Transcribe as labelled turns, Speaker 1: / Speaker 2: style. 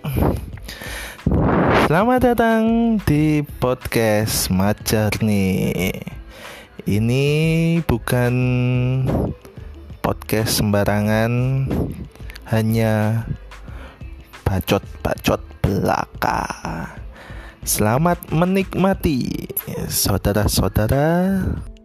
Speaker 1: Selamat datang di podcast Majarni. Ini bukan podcast sembarangan, hanya bacot-bacot belaka. Selamat menikmati, saudara-saudara.